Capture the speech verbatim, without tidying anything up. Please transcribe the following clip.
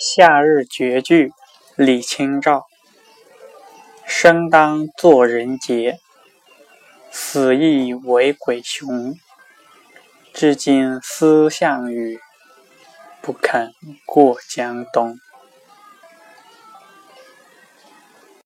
夏日绝句，李清照。生当作人杰，死亦为鬼雄。至今思项羽，不肯过江东。